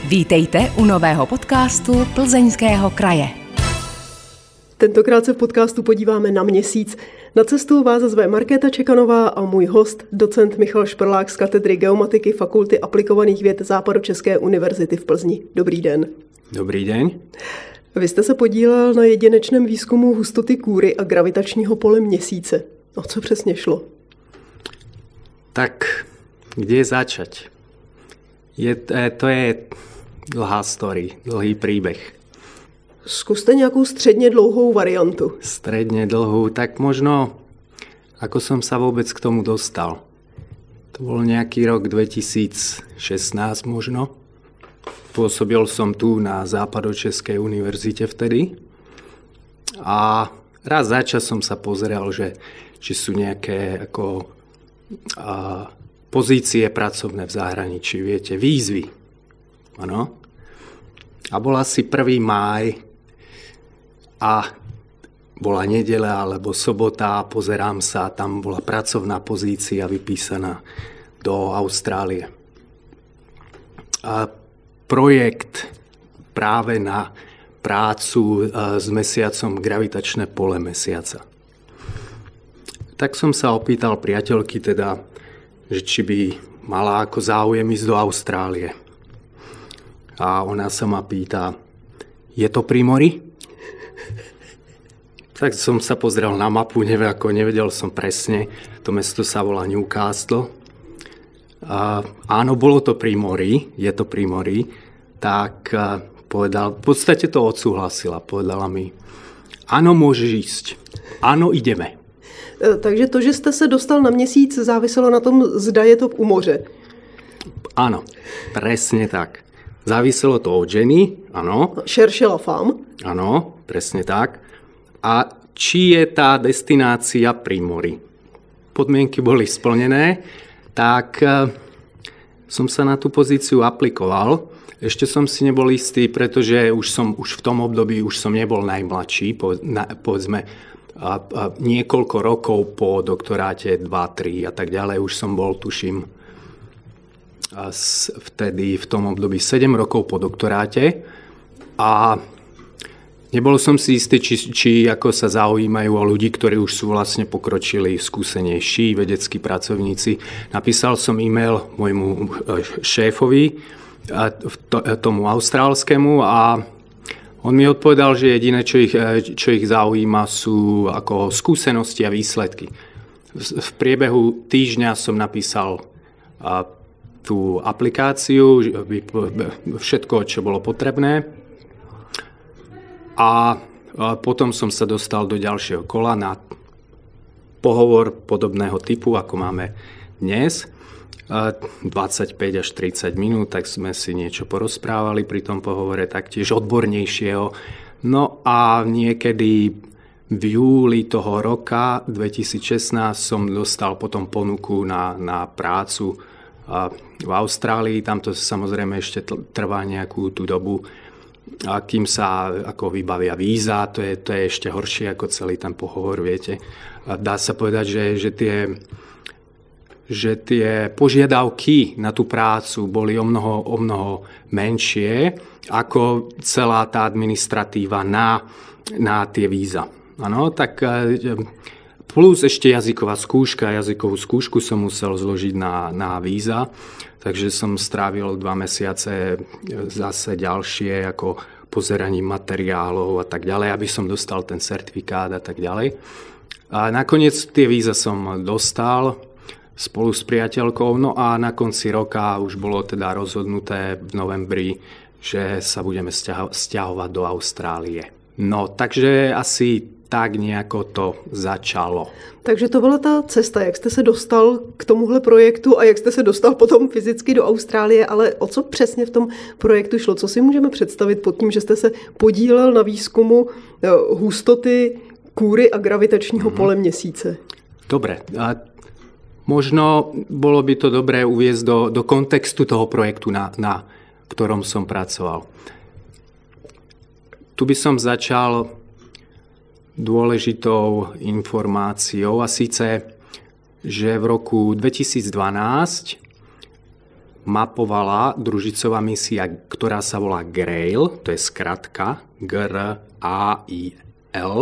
Vítejte u nového podcastu Plzeňského kraje. Tentokrát se v podcastu podíváme na Měsíc. Na cestu vás zve Markéta Čekanová a můj host, docent Michal Šprlák z katedry geomatiky Fakulty aplikovaných věd Západočeské univerzity v Plzni. Dobrý den. Dobrý den. Vy jste se podílel na jedinečném výzkumu hustoty kůry a gravitačního pole Měsíce. O co přesně šlo? Tak, kde začať? To je dlhá story, dlhý príbeh. Zkuste nějakou středně dlouhou variantu. Stredne dlhú, tak možno, ako som sa vôbec k tomu dostal. To bol nejaký rok 2016 možno. Pôsobil som tu na Západočeskej univerzite vtedy. A raz za čas som sa pozeral, že či sú nejaké pozície pracovné v zahraničí, viete, výzvy. Áno. A bol asi 1. máj a bola nedeľa alebo sobota, pozerám sa, tam bola pracovná pozícia vypísaná do Austrálie. A projekt práve na prácu s mesiacom gravitačné pole mesiaca. Tak som sa opýtal priateľky teda, že či by mala ako záujem ísť do Austrálie. A ona sa ma pýta, je to pri mori? Tak som sa pozrel na mapu, nevedel som presne. To mesto sa volá Newcastle. Áno, bolo to pri mori, je to pri mori. Tak povedal, v podstate to odsúhlasila. Povedala mi, áno, môžeš ísť. Áno, ideme. Takže to, že jste se dostal na Měsíc, záviselo na tom, zda je to u moře. Áno, presne tak. Záviselo to od ženy, áno. Cherchez la femme. Áno, presne tak. A či je tá destinácia pri mori? Podmienky boli splnené, tak som sa na tú pozíciu aplikoval. Ešte som si nebol istý, pretože už v tom období už som nebol najmladší, povedzme niekoľko rokov po doktoráte, 2-3 a tak ďalej. Už som bol, tuším, vtedy v tom období 7 rokov po doktoráte a nebol som si istý, či ako sa zaujímajú o ľudí, ktorí už sú vlastne pokročili, skúsenejší vedeckí pracovníci. Napísal som e-mail môjmu šéfovi, tomu austrálskému, a on mi odpovedal, že jediné, čo ich zaujíma, sú ako skúsenosti a výsledky. V priebehu týždňa som napísal tú aplikáciu, všetko, čo bolo potrebné. A potom som sa dostal do ďalšieho kola na pohovor podobného typu, ako máme dnes. 25 až 30 minút, tak sme si niečo porozprávali pri tom pohovore, taktiež odbornejšieho. No a niekedy v júli toho roka 2016 som dostal potom ponuku na prácu v Austrálii. Tam to samozrejme ešte trvá nejakú tú dobu, a kým sa ako vybavia víza, to je ešte horšie ako celý ten pohovor, viete. Dá sa povedať, že tie požiadavky na tú prácu boli o mnoho menšie ako celá tá administratíva na tie víza. Ano, tak plus ešte jazykovú skúšku som musel zložiť na víza, takže som strávil 2 mesiace zase ďalšie ako pozeraním materiálov a tak ďalej, aby som dostal ten certifikát a tak ďalej. A nakoniec tie víza som dostal spolu s priateľkou, no a na konci roka už bolo teda rozhodnuté v novembri, že sa budeme sťahovať do Austrálie. No, takže asi tak nejako to začalo. Takže to byla ta cesta, jak jste se dostal k tomuhle projektu a jak jste se dostal potom fyzicky do Austrálie, ale o co přesně v tom projektu šlo? Co si můžeme představit pod tím, že jste se podílel na výzkumu hustoty kůry a gravitačního pole Měsíce? Dobre, možno bolo by to dobré uviesť do kontextu toho projektu, na ktorom som pracoval. Tu by som začal dôležitou informáciou, a síce, že v roku 2012 mapovala družicová misia, ktorá sa volá GRAIL, to je skratka GRAIL,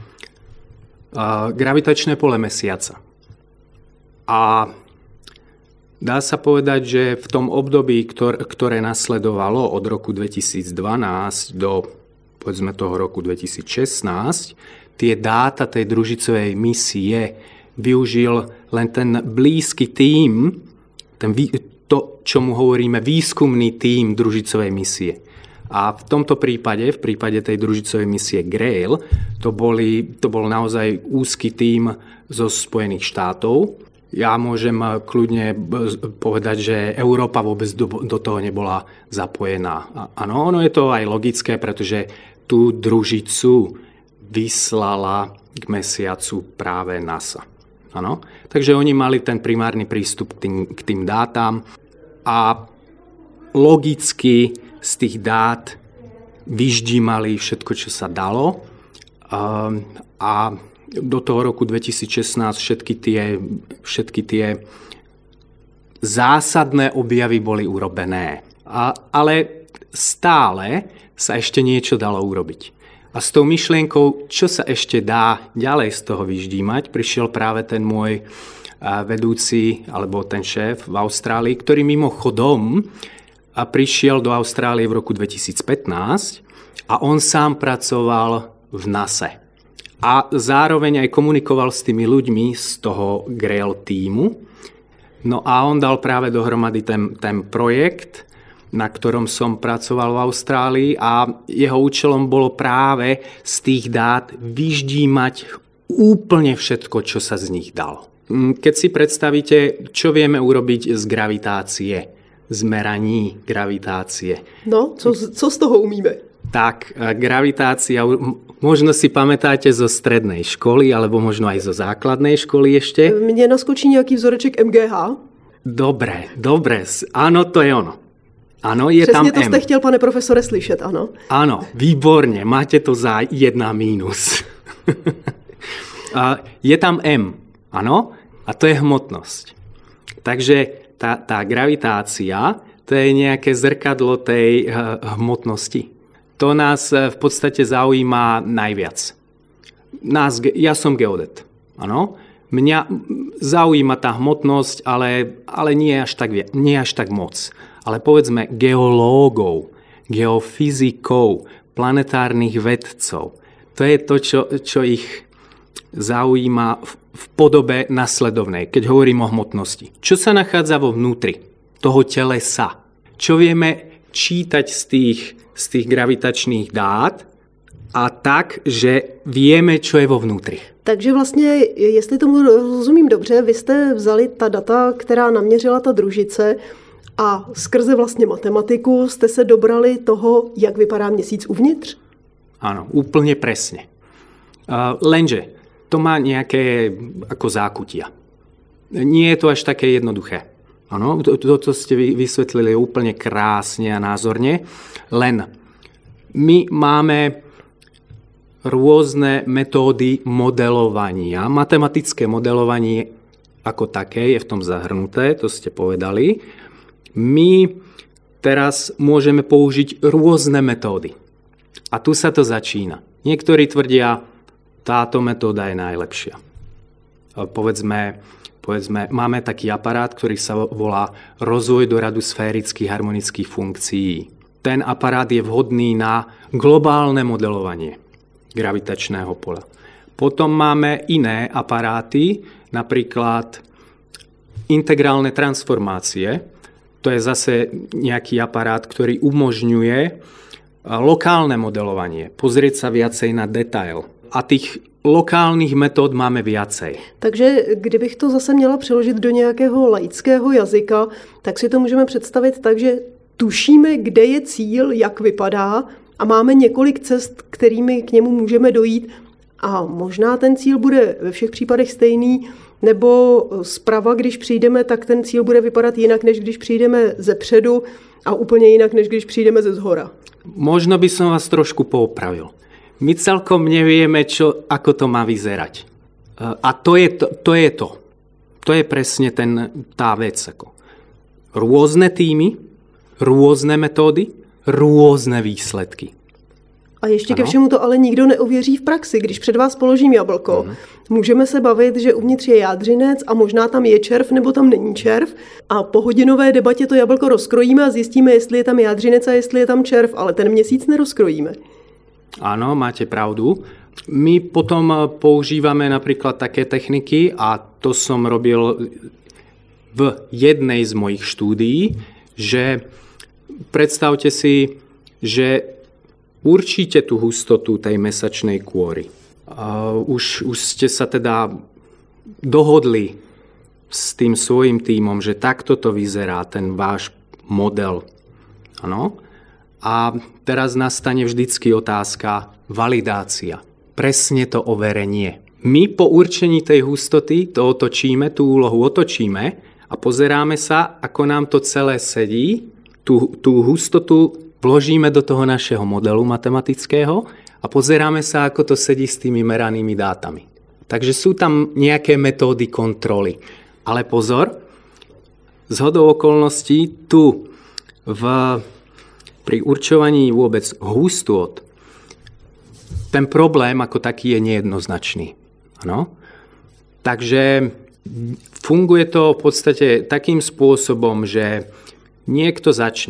gravitačné pole mesiaca. A dá sa povedať, že v tom období, ktoré nasledovalo od roku 2012 do povedzme toho roku 2016, tie dáta tej družicovej misie využil len ten blízky tím, to, čomu hovoríme výskumný tím družicovej misie. A v tomto prípade, v prípade tej družicovej misie GRAIL, to bol naozaj úzky tím zo Spojených štátov. Ja môžem kľudne povedať, že Európa vôbec do toho nebola zapojená. Áno, ono je to aj logické, pretože tú družicu vyslala k mesiacu práve NASA. Áno? Takže oni mali ten primárny prístup k tým dátam a logicky z tých dát vyždímali všetko, čo sa dalo. A do toho roku 2016 všetky tie zásadné objavy boli urobené. Ale stále sa ešte niečo dalo urobiť. A s tou myšlienkou, čo sa ešte dá ďalej z toho vyždímať, prišiel práve ten môj vedúci, alebo ten šéf v Austrálii, ktorý mimochodom prišiel do Austrálie v roku 2015 a on sám pracoval v NASA. A zároveň aj komunikoval s tými ľuďmi z toho GRAIL tímu. No a on dal práve dohromady ten projekt, na ktorom som pracoval v Austrálii a jeho účelom bolo práve z tých dát vyždímať úplne všetko, čo sa z nich dalo. Keď si predstavíte, čo vieme urobiť z gravitácie, z meraní gravitácie. No, co z toho umíme? Tak, gravitácia, možno si pamätáte zo strednej školy, alebo možno aj zo základnej školy ešte. Mne naskočí nejaký vzoreček MGH. Dobre, áno, to je ono. Áno, je Přesně tam to jste chtěl, pane profesore, slyšet, ano. Áno, výborne, máte to za 1 mínus. Je tam M, áno, a to je hmotnosť. Takže tá gravitácia, to je nejaké zrkadlo tej hmotnosti. To nás v podstate zaujíma najviac. Ja som geodet, áno. Mňa zaujíma tá hmotnosť, ale nie až tak moc. Ale povedzme geológov, geofyzikov, planetárnych vedcov. To je to, čo ich zaujíma v podobe nasledovnej, keď hovorím o hmotnosti. Čo sa nachádza vo vnútri toho telesa? Čo vieme čítať z tých gravitačných dát a tak, že vieme, čo je vo vnútri. Takže vlastně, jestli tomu rozumím dobře, vy jste vzali ta data, která naměřila ta družice, a skrze vlastně matematiku jste se dobrali toho, jak vypadá měsíc uvnitř? Áno, úplne presne. Lenže to má nejaké ako zákutia. Nie je to až také jednoduché. Áno, to ste vysvetlili úplne krásne a názorne. Len my máme rôzne metódy modelovania. Matematické modelovanie ako také je v tom zahrnuté, to ste povedali. My teraz môžeme použiť rôzne metódy. A tu sa to začína. Niektorí tvrdia, táto metóda je najlepšia. Povedzme, máme taký aparát, ktorý sa volá rozvoj do radu sférických harmonických funkcií. Ten aparát je vhodný na globálne modelovanie gravitačného pola. Potom máme iné aparáty, napríklad integrálne transformácie. To je zase nejaký aparát, ktorý umožňuje lokálne modelovanie. Pozrieť sa viacej na detail. A tých lokálnych metód máme viacej. Takže kdybych to zase měla přeložit do nějakého laického jazyka, tak si to můžeme představit tak, že tušíme, kde je cíl, jak vypadá a máme několik cest, kterými k němu můžeme dojít a možná ten cíl bude ve všech případech stejný, nebo zprava, když přijdeme, tak ten cíl bude vypadat jinak, než když přijdeme zepředu a úplně jinak, než když přijdeme ze zhora. Možno by som vás trošku poopravil. My celkom nevieme, ako to má vyzerať. A to je to. To je presne tá vec. rôzne týmy, rôzne metódy, rôzne výsledky. A ještě ke všemu to ale nikdo neověří v praxi. Když před vás položím jablko, můžeme se bavit, že uvnitř je jádřinec a možná tam je červ nebo tam není červ a po hodinové debatě to jablko rozkrojíme a zjistíme, jestli je tam jádřinec a jestli je tam červ, ale ten měsíc nerozkrojíme. Áno, máte pravdu. My potom používame napríklad také techniky a to som robil v jednej z mojich štúdií, že predstavte si, že určite tú hustotu tej mesačnej kôry. Už ste sa teda dohodli s tým svojím tímom, že takto to vyzerá, ten váš model. Ano? A teraz nastane vždycky otázka validácia. Presne to overenie. My po určení tej hustoty to otočíme, tú úlohu otočíme a pozeráme sa, ako nám to celé sedí, tú hustotu vložíme do toho našeho modelu matematického a pozeráme sa, ako to sedí s tými meranými dátami. Takže sú tam nejaké metódy kontroly. Ale pozor, zhodou okolností tu pri určovaní vôbec hustôt ten problém ako taký je nejednoznačný. Ano? Takže funguje to v podstate takým spôsobom, že niekto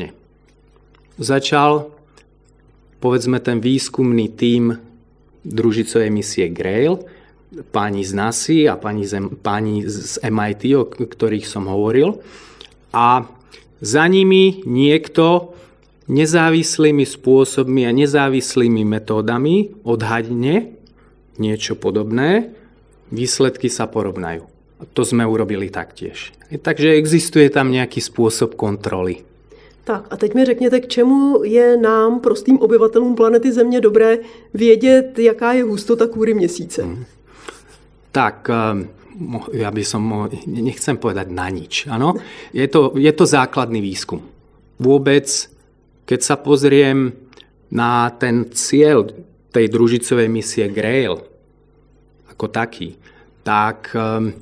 začal, povedzme, ten výskumný tím družicovej misie Grail, páni z NASA a páni z MIT, o ktorých som hovoril. A za nimi niekto nezávislými spôsobmi a nezávislými metódami odhadne niečo podobné, výsledky sa porovnajú. To sme urobili taktiež. Takže existuje tam nejaký spôsob kontroly. Tak a teď mi řekněte, k čemu je nám, prostým obyvatelům planety Země, dobré vědět, jaká je hustota kůry Měsíce? Tak, ja by som, nechcem povedať na nič. Ano? Je to základný výskum. Vôbec, keď sa pozriem na ten cieľ tej družicovej misie Grail ako taký, tak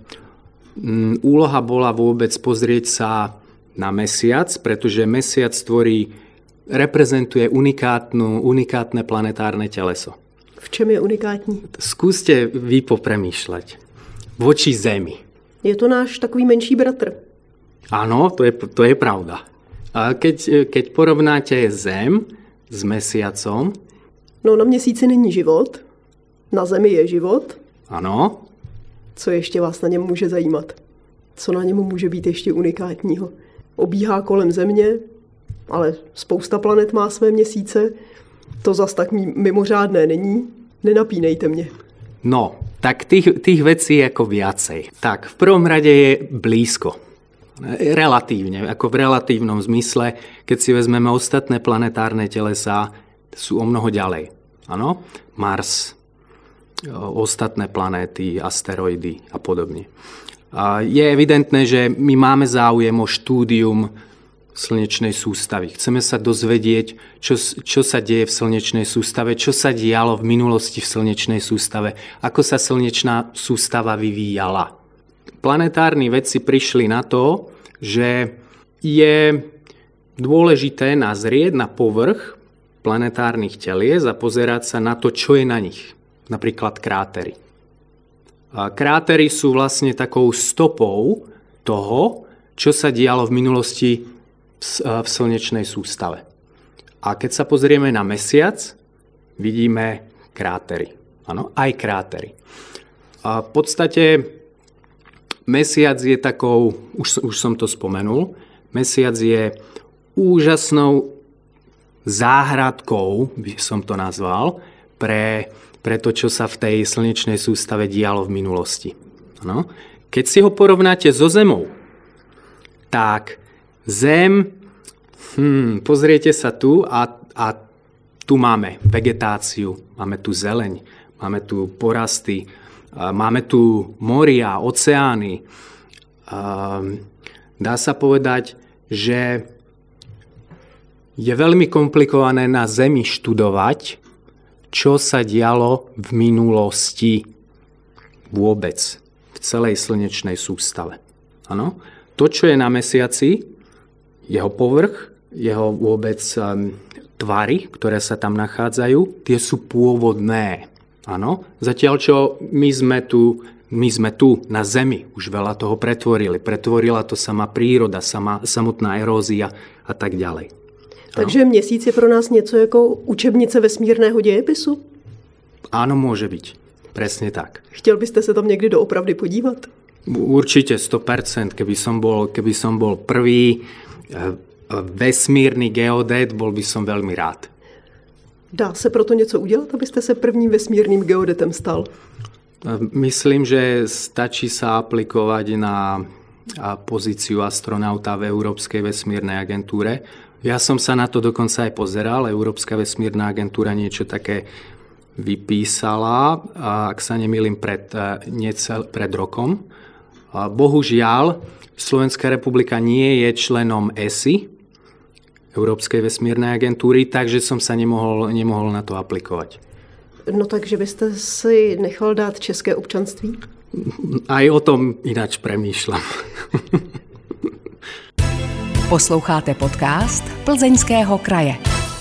úloha bola vôbec pozrieť sa na mesiac, pretože mesiac reprezentuje unikátne planetárne teleso. V čem je unikátní? Skúste vy popremýšľať. Voči Zemi. Je to náš takový menší bratr. Áno, to je pravda. A keď porovnáte Zem s mesiacom... No, na Měsíci není život, na Zemi je život. Ano. Co ještě vás na něm může zajímat? Co na něm může být ještě unikátního? Obíhá kolem Země, ale spousta planet má své měsíce. To zas tak mimořádné není. Nenapínejte mě. No, tak tých vecí je ako viacej. Tak, v prvom rade je blízko. Relatívne, ako v relatívnom zmysle, keď si vezmeme ostatné planetárne telesá, sú o mnoho ďalej. Áno? Mars, ostatné planéty, asteroidy a podobne. Je evidentné, že my máme záujem o štúdium slnečnej sústavy. Chceme sa dozvedieť, čo sa deje v slnečnej sústave, čo sa dialo v minulosti v slnečnej sústave, ako sa slnečná sústava vyvíjala. Planetárni vedci prišli na to, že je dôležité nazrieť na povrch planetárnych telies a pozerať sa na to, čo je na nich. Napríklad krátery. Krátery sú vlastne takou stopou toho, čo sa dialo v minulosti v slnečnej sústave. A keď sa pozrieme na mesiac, vidíme krátery. Áno, aj krátery. A v podstate mesiac je takou, už som to spomenul, mesiac je úžasnou záhradkou, by som to nazval, pre to, čo sa v tej slnečnej sústave dialo v minulosti. Ano. Keď si ho porovnáte so Zemou, tak Zem, pozriete sa tu a tu máme vegetáciu, máme tu zeleň, máme tu porasty, máme tu moria, oceány. Dá sa povedať, že je veľmi komplikované na Zemi študovať, čo sa dialo v minulosti vôbec v celej slnečnej sústave. Ano? To, čo je na mesiaci, jeho povrch, jeho vôbec tvary, ktoré sa tam nachádzajú, tie sú pôvodné. Áno? Zatiaľ, čo my sme tu na Zemi už veľa toho pretvorili. Pretvorila to sama príroda, samotná erózia a tak ďalej. Takže Měsíc je pro nás něco jako učebnice vesmírného dějepisu? Áno, môže byť. Presne tak. Chtěl byste se tam někdy doopravdy podívat? Určite 100%. Keby som bol prvý vesmírny geodét, bol by som veľmi rád. Dá se proto něco udělat, abyste se prvním vesmírným geodetem stal? Myslím, že stačí sa aplikovať na pozíciu astronauta v Európskej vesmírnej agentúre. Ja som sa na to dokonca aj pozeral. Európska vesmírna agentúra niečo také vypísala, ak sa nemýlim, pred rokom. Bohužiaľ, Slovenská republika nie je členom ESI, Európskej vesmírnej agentúry, takže som sa nemohol na to aplikovať. No takže byste si nechal dát české občanství? Aj o tom ináč premýšľam. Posloucháte podcast Plzeňského kraje.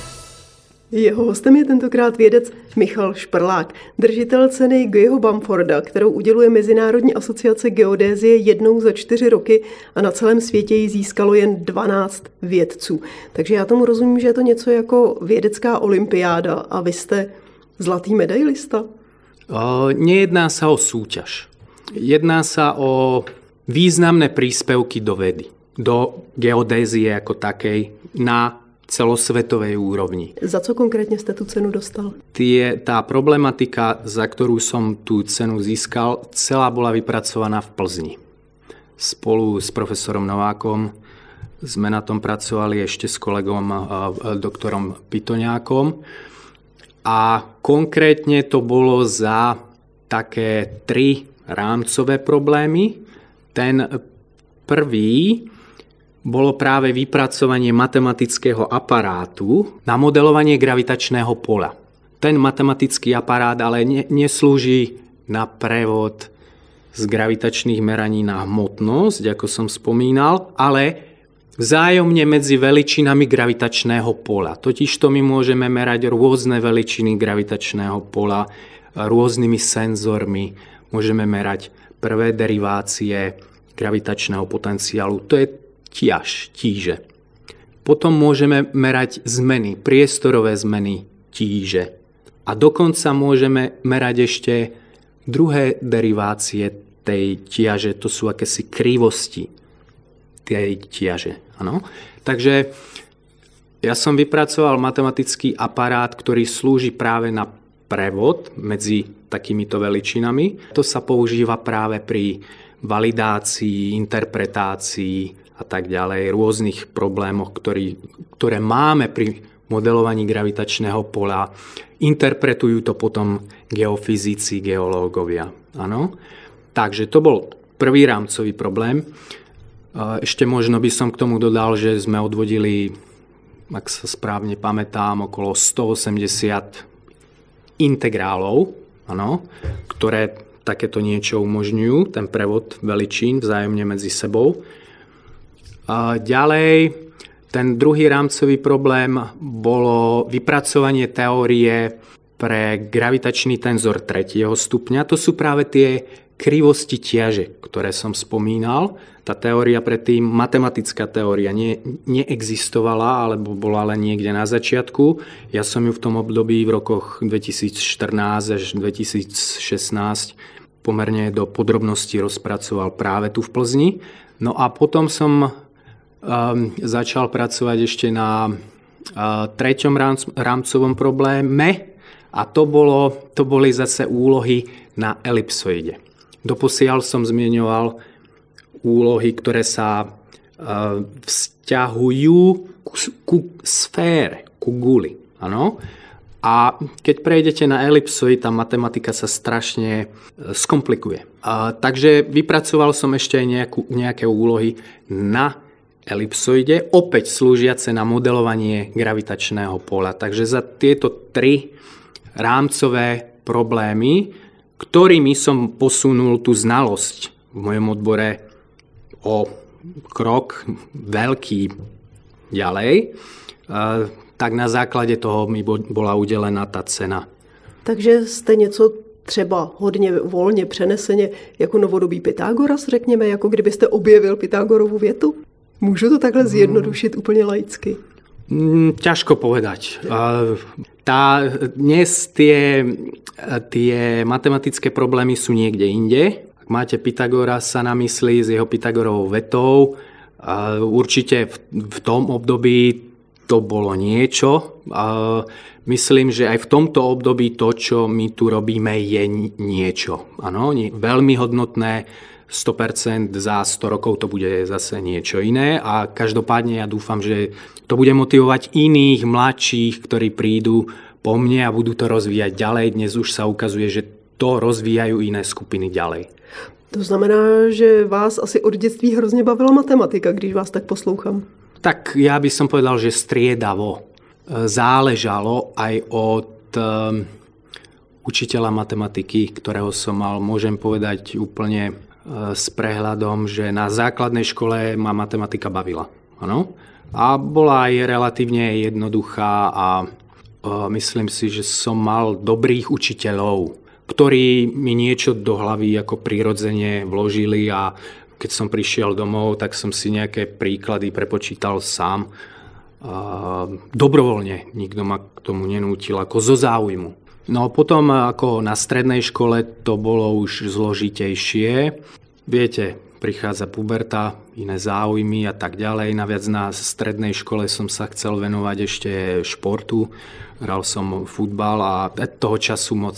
Jeho hostem je tentokrát vědec Michal Šprlák, držitel ceny Guyho Bamforda, kterou uděluje Mezinárodní asociace geodézie jednou za 4 roky a na celém světě ji získalo jen 12 vědců. Takže já tomu rozumím, že je to něco jako vědecká olympiáda a vy jste zlatý medailista? Nejedná sa o súťaž. Jedná sa o významné príspevky do vedy, do geodézie ako takej na celosvetovej úrovni. Za co konkrétne ste tú cenu dostal? Tá problematika, za ktorú som tú cenu získal, celá bola vypracovaná v Plzni. Spolu s profesorom Novákom sme na tom pracovali ešte s kolegom doktorom Pitoňákom. A konkrétne to bolo za také 3 rámcové problémy. Ten prvý bolo práve vypracovanie matematického aparátu na modelovanie gravitačného poľa. Ten matematický aparát ale neslúži na prevod z gravitačných meraní na hmotnosť, ako som spomínal, ale vzájomne medzi veličinami gravitačného poľa. Totižto my môžeme merať rôzne veličiny gravitačného poľa rôznymi senzormi. Môžeme merať prvé derivácie gravitačného potenciálu. To je tíže. Potom môžeme merať zmeny, priestorové zmeny tíže. A dokonca môžeme merať ešte druhé derivácie tej tiaže. To sú akési krivosti tej tiaže. Ano. Takže ja som vypracoval matematický aparát, ktorý slúži práve na prevod medzi takýmito veličinami. To sa používa práve pri validácii, interpretácii a tak ďalej, rôznych problémoch, ktoré máme pri modelovaní gravitačného poľa. Interpretujú to potom geofyzici, geológovia. Ano. Takže to bol prvý rámcový problém. Ešte možno by som k tomu dodal, že sme odvodili, ak sa správne pamätám, okolo 180 integrálov, ano, ktoré takéto niečo umožňujú, ten prevod veličín vzájomne medzi sebou. Ďalej, ten druhý rámcový problém bolo vypracovanie teórie pre gravitačný tenzor 3. stupňa. To sú práve tie krivosti tiaže, ktoré som spomínal. Tá teória predtým, matematická teória, neexistovala, alebo bola len niekde na začiatku. Ja som ju v tom období v rokoch 2014 až 2016 pomerne do podrobností rozpracoval práve tu v Plzni. No a potom som začal pracovať ešte na treťom rámcovom probléme a to boli zase úlohy na elipsoide. Doposiaľ som zmieňoval úlohy, ktoré sa vzťahujú ku sfére, ku guli. Ano? A keď prejdete na elipsoid, tá matematika sa strašne skomplikuje. Takže vypracoval som ešte aj nejaké úlohy na elipsoide, opäť slúžiace na modelovanie gravitačného poľa. Takže za tieto 3 rámcové problémy, ktorými som posunul tú znalosť v mojom odbore o krok veľký ďalej, tak na základe toho mi bola udelená tá cena. Takže jste něco třeba hodně volně přeneseně jako novodobý Pythagoras, řekněme, jako kdybyste objevil Pythagorovu větu? Můžu to takhle zjednodušit úplně laicky? Ťažko povedať. Dnes tie matematické problémy sú niekde inde. Ak máte Pythagorasa na mysli s jeho Pythagorovou vetou, určite v tom období to bolo niečo. Myslím, že aj v tomto období to, čo my tu robíme, je niečo. Áno, veľmi hodnotné. 100%, za 100 rokov to bude zase niečo iné a každopádne ja dúfam, že to bude motivovať iných mladších, ktorí prídu po mne a budú to rozvíjať ďalej. Dnes už sa ukazuje, že to rozvíjajú iné skupiny ďalej. To znamená, že vás asi od dětství hrozně bavila matematika, když vás tak poslouchám. Tak ja by som povedal, že striedavo. Záležalo aj od učiteľa matematiky, ktorého som mal, môžem povedať úplne s prehľadom, že na základnej škole ma matematika bavila. Ano? A bola aj relatívne jednoduchá a myslím si, že som mal dobrých učiteľov, ktorí mi niečo do hlavy ako prirodzene vložili a keď som prišiel domov, tak som si nejaké príklady prepočítal sám. Dobrovoľne, nikto ma k tomu nenútil, ako zo záujmu. No potom ako na strednej škole to bolo už zložitejšie. Viete, prichádza puberta, iné záujmy a tak ďalej. Naviac na strednej škole som sa chcel venovať ešte športu. Hral som futbal a toho času moc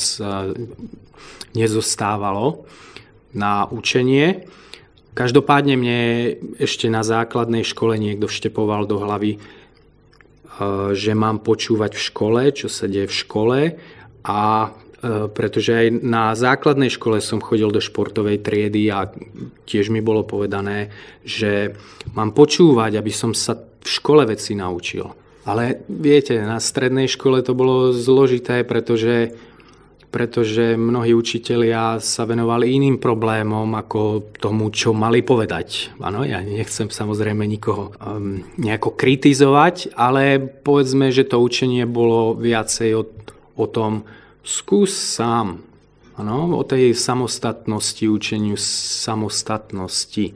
nezostávalo na učenie. Každopádne mne ešte na základnej škole niekto vštepoval do hlavy, že mám počúvať v škole, čo sa deje v škole. A pretože aj na základnej škole som chodil do športovej triedy a tiež mi bolo povedané, že mám počúvať, aby som sa v škole veci naučil. Ale viete, na strednej škole to bolo zložité, pretože mnohí učitelia sa venovali iným problémom ako tomu, čo mali povedať. Áno, ja nechcem samozrejme nikoho nejako kritizovať, ale povedzme, že to učenie bolo viacej o tom, skús sám. Ano, o tej samostatnosti, učeniu samostatnosti.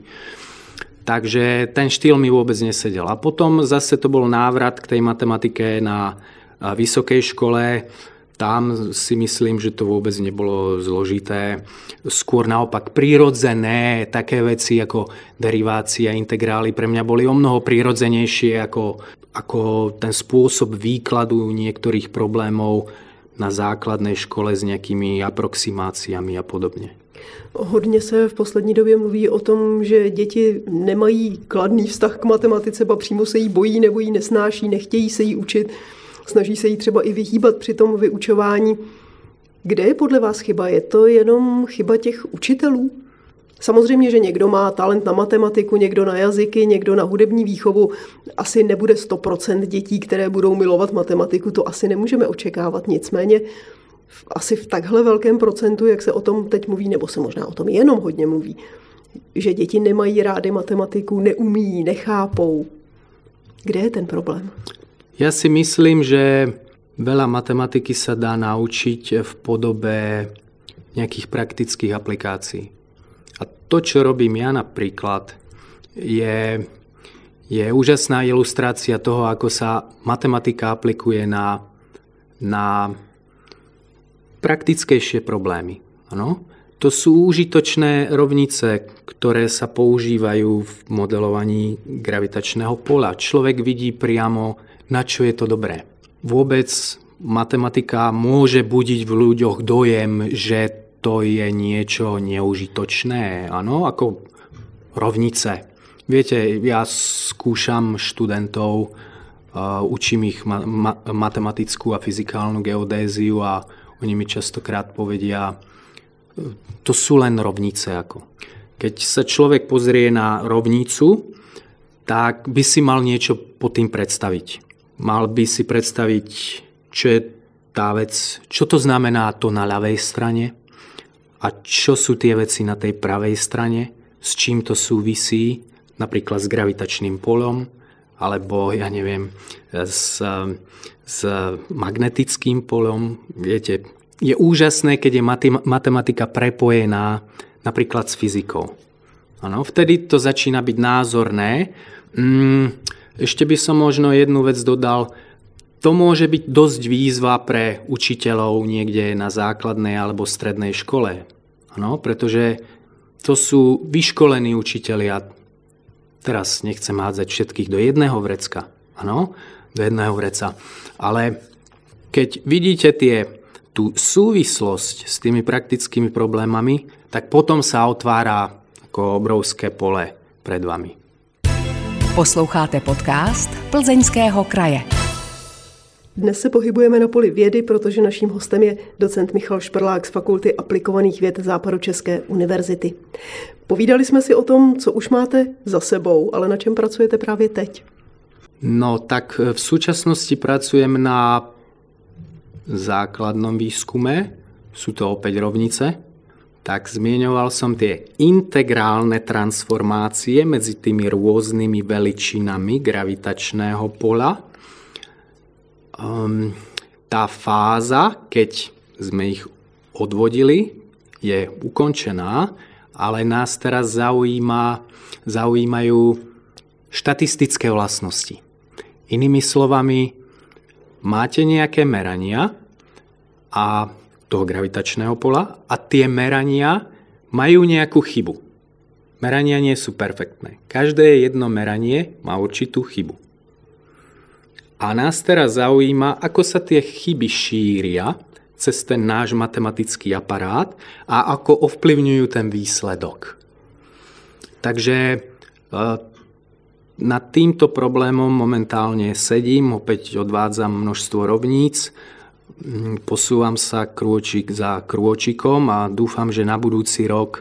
Takže ten štýl mi vôbec nesedel. A potom zase to bol návrat k tej matematike na vysokej škole. Tam si myslím, že to vôbec nebolo zložité. Skôr naopak prirodzené také veci ako derivácia, integrály pre mňa boli omnoho prirodzenejšie ako ten spôsob výkladu niektorých problémov na základnej škole s nejakými aproximáciami a podobne. Hodně se v poslední době mluví o tom, že děti nemají kladný vztah k matematice, ba přímo se jí bojí nebo jí nesnáší, nechtějí se jí učit, snaží se jí třeba i vyhýbat při tom vyučování. Kde je podle vás chyba? Je to jenom chyba těch učitelů? Samozřejmě, že někdo má talent na matematiku, někdo na jazyky, někdo na hudební výchovu. Asi nebude 100% dětí, které budou milovat matematiku, to asi nemůžeme očekávat. Nicméně asi v takhle velkém procentu, jak se o tom teď mluví, nebo se možná o tom jenom hodně mluví, že děti nemají rády matematiku, neumí, nechápou. Kde je ten problém? Ja si myslím, že veľa matematiky sa dá naučiť v podobe nejakých praktických aplikácií. A to, čo robím ja napríklad, je úžasná ilustrácia toho, ako sa matematika aplikuje na praktickejšie problémy. Ano? To sú užitočné rovnice, ktoré sa používajú v modelovaní gravitačného pola. Človek vidí priamo, na čo je to dobré. Vôbec matematika môže budiť v ľuďoch dojem, že to je niečo neužitočné, áno, ako rovnice. Viete, ja skúšam študentov, učím ich matematickú a fyzikálnu geodéziu a oni mi častokrát povedia, to sú len rovnice. Keď sa človek pozrie na rovnicu, tak by si mal niečo pod tým predstaviť. Mal by si predstaviť, čo je tá vec, čo to znamená to na ľavej strane a čo sú tie veci na tej pravej strane, s čím to súvisí, napríklad s gravitačným polom alebo ja neviem, s magnetickým polom. Viete, je úžasné, keď je matematika prepojená napríklad s fyzikou. Ano, vtedy to začína byť názorné. Ešte by som možno jednu vec dodal. To môže byť dosť výzva pre učiteľov niekde na základnej alebo strednej škole. Ano, pretože to sú vyškolení učitelia. Teraz nechcem hádzať všetkých do jedného vrecka. Áno, do jedného vreca. Ale keď vidíte tú súvislosť s tými praktickými problémami, tak potom sa otvára ako obrovské pole pred vami. Posloucháte podcast Plzeňského kraje. Dnes se pohybujeme na poli vědy, protože naším hostem je docent Michal Šperlák z Fakulty aplikovaných věd Západočeské univerzity. Povídali jsme si o tom, co už máte za sebou, ale na čem pracujete právě teď? No tak v súčasnosti pracujem na základnom výskume, sú to opäť rovnice. Tak zmieňoval som tie integrálne transformácie medzi tými rôznymi veličinami gravitačného pola. Tá fáza, keď sme ich odvodili, je ukončená, ale nás teraz zaujímajú štatistické vlastnosti. Inými slovami, máte nejaké merania a toho gravitačného pola a tie merania majú nejakú chybu. Merania nie sú perfektné. Každé jedno meranie má určitú chybu. A nás teraz zaujíma, ako sa tie chyby šíria cez ten náš matematický aparát a ako ovplyvňujú ten výsledok. Takže nad týmto problémom momentálne sedím, opäť odvádzam množstvo rovníc, posúvam sa krôčik za krôčikom a dúfam, že na budúci rok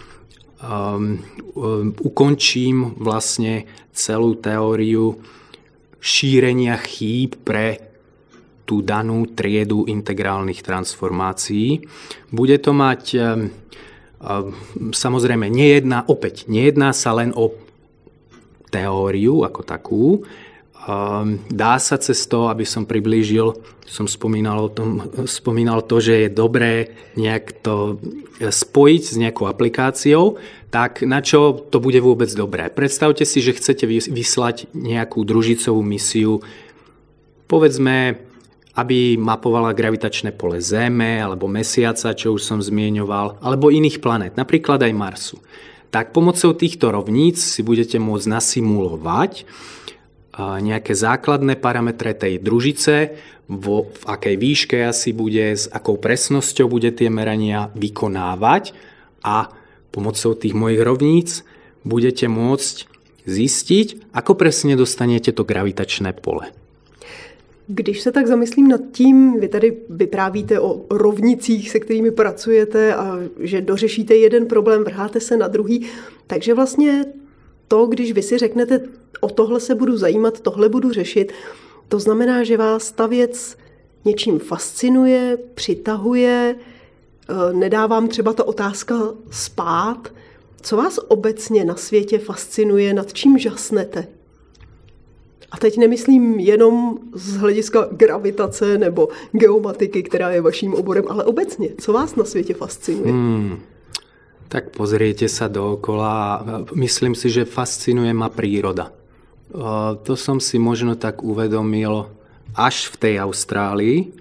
ukončím vlastne celú teóriu šírenia chýb pre tú danú triedu integrálnych transformácií. Bude to mať, samozrejme, nejedná sa len o teóriu ako takú. Dá sa cez to, aby som priblížil, som spomínal to, že je dobré nejak to spojiť s nejakou aplikáciou, tak na čo to bude vôbec dobré? Predstavte si, že chcete vyslať nejakú družicovú misiu, povedzme, aby mapovala gravitačné pole Zeme alebo Mesiaca, čo už som zmieňoval, alebo iných planét, napríklad aj Marsu. Tak pomocou týchto rovníc si budete môcť nasimulovať nejaké základné parametre tej družice, v akej výške asi bude, s akou presnosťou bude tie merania vykonávať a pomocou tých mojich rovníc budete môcť zistiť, ako presne dostanete to gravitačné pole. Když se tak zamyslím nad tím, vy tady vyprávíte o rovnicích, se kterými pracujete a že dořešíte jeden problém, vrháte se na druhý, takže vlastně to, když vy si řeknete, o tohle se budu zajímat, tohle budu řešit, to znamená, že vás ta věc něčím fascinuje, přitahuje, nedá vám třeba ta otázka spát. Co vás obecně na světě fascinuje, nad čím žasnete? A teď nemyslím jenom z hlediska gravitace nebo geomatiky, která je vaším oborem, ale obecně. Co vás na světě fascinuje? Tak pozriete sa dookola a myslím si, že fascinuje ma príroda. To som si možno tak uvedomil až v tej Austrálii.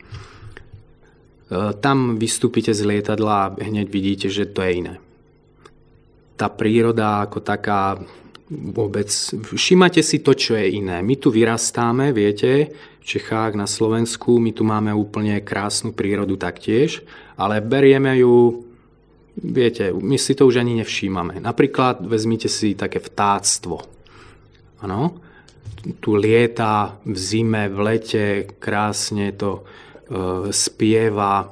Tam vystúpite z lietadla a hneď vidíte, že to je iné. Tá príroda ako taká vôbec, všimate si to, čo je iné. My tu vyrastáme, viete, v Čechách, na Slovensku, my tu máme úplne krásnu prírodu taktiež, ale berieme ju, viete, my si to už ani nevšímame. Napríklad vezmite si také vtáctvo. Áno, tu lieta v zime, v lete, krásne to spieva.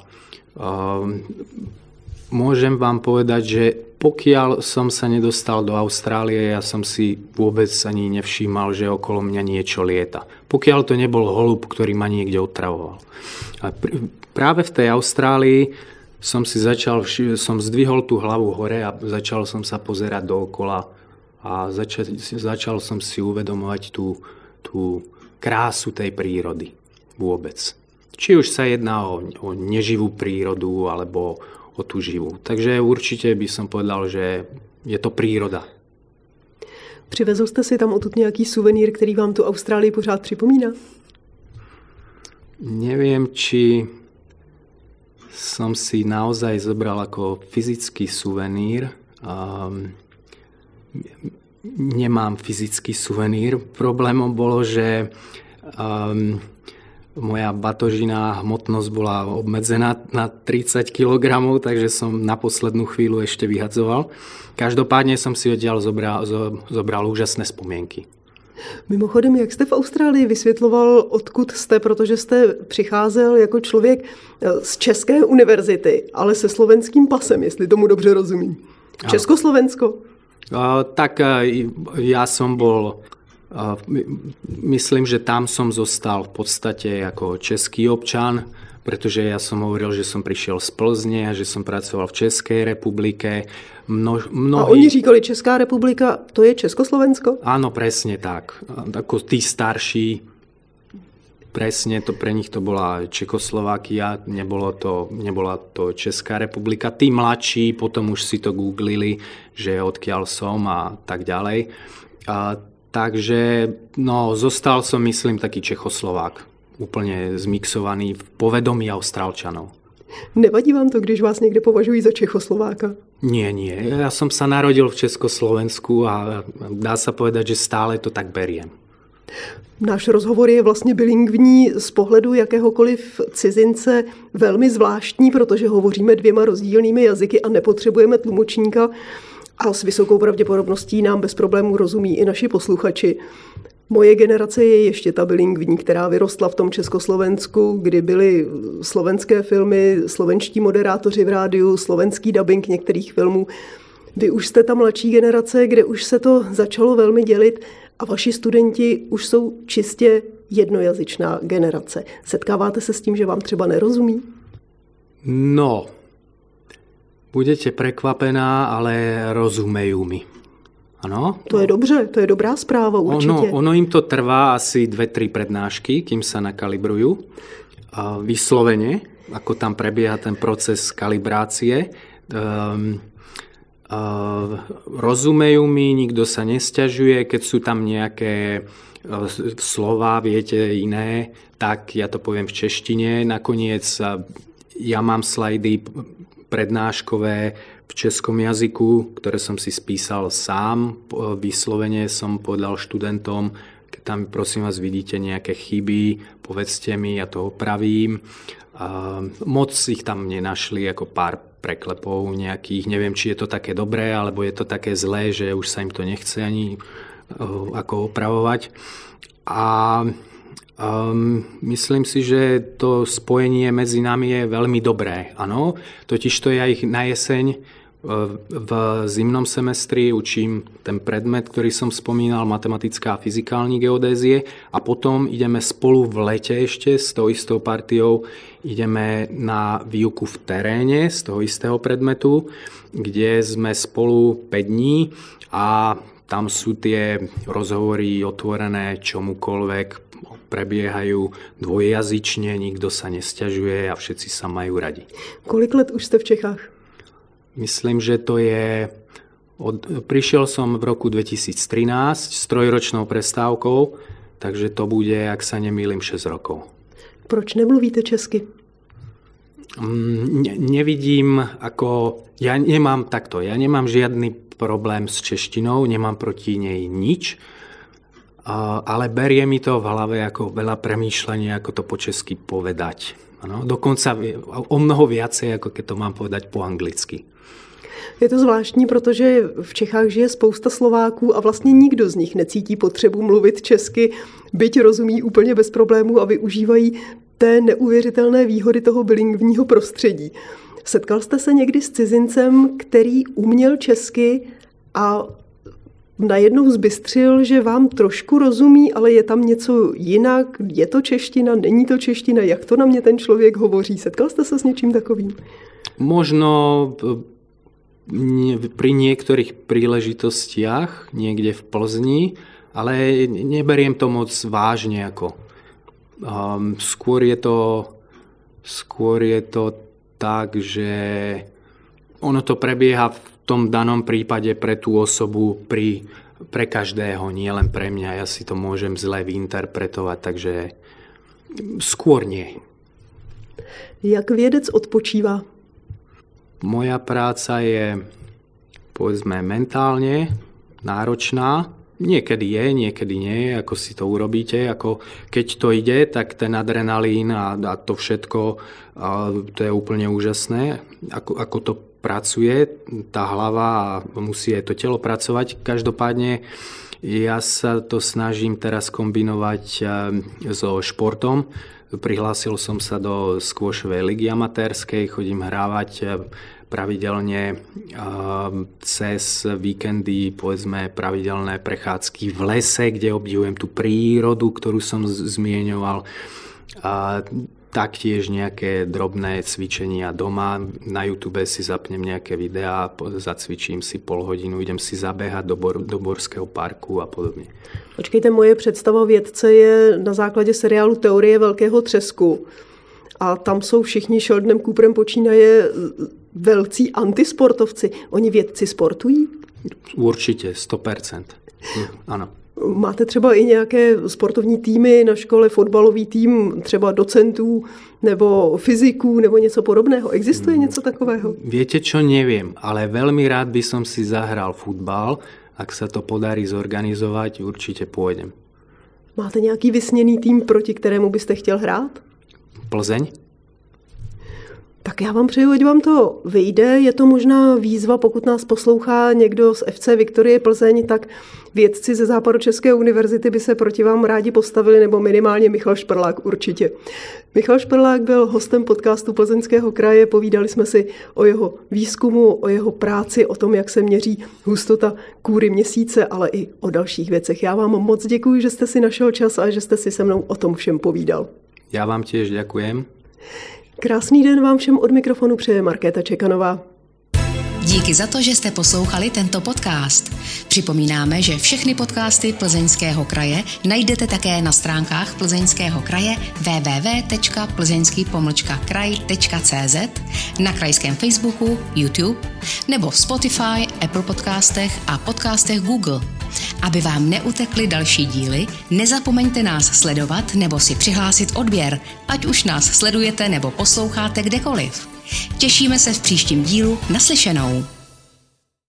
Môžem vám povedať, že pokiaľ som sa nedostal do Austrálie, ja som si vôbec ani nevšímal, že okolo mňa niečo lieta. Pokiaľ to nebol holub, ktorý ma niekde otravoval. A práve v tej Austrálii som zdvihol tú hlavu hore a začal som sa pozerať dookola a začal som si uvedomovať tú tú krásu tej prírody vôbec. Či už sa jedná o neživú prírodu, alebo o tú živú. Takže určite by som povedal, že je to príroda. Přivezl jste si tam odtud nějaký suvenýr, který vám tu Austrálii pořád připomíná? Neviem, či som si naozaj zobral ako fyzický suvenír. Nemám fyzický suvenír. Problémom bolo, že moja batožina hmotnosť bola obmedzená na 30 kg, takže som na poslednú chvíľu ešte vyhadzoval. Každopádne som si odtiaľ zobral úžasné spomienky. Mimochodem, jak jste v Austrálii vysvětloval, odkud jste, protože jste přicházel jako člověk z České univerzity, ale se slovenským pasem, jestli tomu dobře rozumím. Československo? Tak ja som bol, myslím, že tam som zostal v podstate ako český občan, pretože ja som hovoril, že som prišiel z Plzne a že som pracoval v Českej republike. A oni říkali, Česká republika, to je Československo? Áno, presne tak. Ako tí starší, presne to pre nich to bola Čekoslovákia, nebola to Česká republika. Tí mladší potom už si to googlili, že odkiaľ som a tak ďalej. Takže zostal som, myslím, taký Čechoslovák. Úplne zmixovaný v povedomí Austrálčanov. Nevadí vám to, když vás někde považují za Čechoslováka? Nie. Ja som sa narodil v Československu a dá sa povedať, že stále to tak beriem. Náš rozhovor je vlastně bilingvní z pohledu jakéhokoliv cizince velmi zvláštní, protože hovoříme 2 rozdílnými jazyky a nepotřebujeme tlumočníka a s vysokou pravděpodobností nám bez problémů rozumí i naši posluchači. Moje generace je ještě ta bilingvní, která vyrostla v tom Československu, kdy byly slovenské filmy, slovenští moderátoři v rádiu, slovenský dabing některých filmů. Vy už jste ta mladší generace, kde už se to začalo velmi dělit a vaši studenti už jsou čistě jednojazyčná generace. Setkáváte se s tím, že vám třeba nerozumí? No, budete prekvapená, ale rozumejú mi. Ano? To je dobře, to je dobrá zpráva určitě. Ono im to trvá asi 2-3 prednášky, kým sa nakalibrujú. Vyslovene, ako tam prebieha ten proces kalibrácie. Rozumejú mi, nikto sa nesťažuje, keď sú tam nejaké slova, viete, iné, tak ja to poviem v češtine. Nakoniec ja mám slajdy prednáškové v českom jazyku, ktoré som si spísal sám. Vyslovene som povedal študentom, keď tam prosím vás vidíte nejaké chyby, povedzte mi, ja to opravím. Moc ich tam nenašli, ako pár preklepov nejakých. Neviem, či je to také dobré, alebo je to také zlé, že už sa im to nechce ani ako opravovať. A myslím si, že to spojenie medzi nami je veľmi dobré. Áno, totiž to ja ich na jeseň v zimnom semestri učím ten predmet, ktorý som spomínal, matematická a fyzikální geodézie, a potom ideme spolu v lete ešte s tou istou partiou ideme na výuku v teréne z toho istého predmetu, kde sme spolu 5 dní a tam sú tie rozhovory otvorené čomukoľvek, prebiehajú dvojjazyčne, nikto sa nesťažuje a všetci sa majú radi. Kolik let už ste v Čechách? Myslím, že to je... Prišiel som v roku 2013 s 3-ročnou prestávkou, takže to bude, ak sa nemýlim, 6 rokov. Proč nemluvíte česky? Nevidím, ako... Ja nemám žiadny problém s češtinou, nemám proti nej nič, ale berie mi to v hlave ako veľa premýšľania, ako to po česky povedať. Ano, dokonca o mnoho viacej, ako keď to mám povedať po anglicky. Je to zvláštní, protože v Čechách žije spousta Slováků a vlastně nikdo z nich necítí potřebu mluvit česky, byť rozumí úplně bez problémů a využívají té neuvěřitelné výhody toho bilingvního prostředí. Setkal jste se někdy s cizincem, který uměl česky a najednou zbystřil, že vám trošku rozumí, ale je tam něco jinak? Je to čeština, není to čeština? Jak to na mě ten člověk hovoří? Setkal jste se s něčím takovým? Možno pri niektorých príležitostiach niekde v Plzni, Ale neberiem to moc vážne. Skôr je to tak, že ono to prebieha v tom danom prípade pre tú osobu pre každého, nie len pre mňa. Ja si to môžem zle vyinterpretovať, takže skôr nie. Jak vědec odpočívá? Moja práca je, povedzme, mentálne náročná. Niekedy je, niekedy nie, ako si to urobíte. Keď to ide, tak ten adrenalín a to všetko, to je úplne úžasné. Ako to pracuje, tá hlava a musí aj to telo pracovať. Každopádne ja sa to snažím teraz kombinovať so športom. Prihlásil som sa do squashovej ligy amatérskej, chodím hrávať pravidelne cez víkendy, povedzme pravidelné prechádzky v lese, kde obdivujem tú prírodu, ktorú som zmieňoval. Taktiež nejaké drobné cvičenia doma. Na YouTube si zapnem nejaké videá, zacvičím si pol hodinu, idem si zabehať do Borského parku a podobne. Počkejte, moje představa vědce je na základě seriálu Teorie velkého třesku. A tam jsou všichni Sheldnem Cooperem počínaje velcí antisportovci. Oni vědci sportují? Určitě, 100%. Ano. Máte třeba i nějaké sportovní týmy na škole, fotbalový tým, třeba docentů nebo fyziků nebo něco podobného? Existuje něco takového? Viete čo, neviem, ale veľmi rád by som si zahral futbal. Ak sa to podarí zorganizovať, určite pôjdem. Máte nějaký vysněný tým, proti kterému byste chtěl hrát? Plzeň? Tak já vám přeju, ať vám to vyjde. Je to možná výzva, pokud nás poslouchá někdo z FC Viktorie Plzeň, tak vědci ze Západočeské univerzity by se proti vám rádi postavili, nebo minimálně Michal Šperlák určitě. Michal Šperlák byl hostem podcastu Plzeňského kraje, povídali jsme si o jeho výzkumu, o jeho práci, o tom, jak se měří hustota kůry měsíce, ale i o dalších věcech. Já vám moc děkuji, že jste si našel čas a že jste si se mnou o tom všem povídal. Já vám tiež ďakujem. Krásný den vám všem od mikrofonu přeje Markéta Čekanová. Díky za to, že jste poslouchali tento podcast. Připomínáme, že všechny podcasty Plzeňského kraje najdete také na stránkách Plzeňského kraje www.plzeňský-kraj.cz, na krajském Facebooku, YouTube nebo v Spotify, Apple podcastech a podcastech Google. Aby vám neutekly další díly, nezapomeňte nás sledovat nebo si přihlásit odběr, ať už nás sledujete nebo posloucháte kdekoliv. Těšíme se v příštím dílu. Naslyšenou.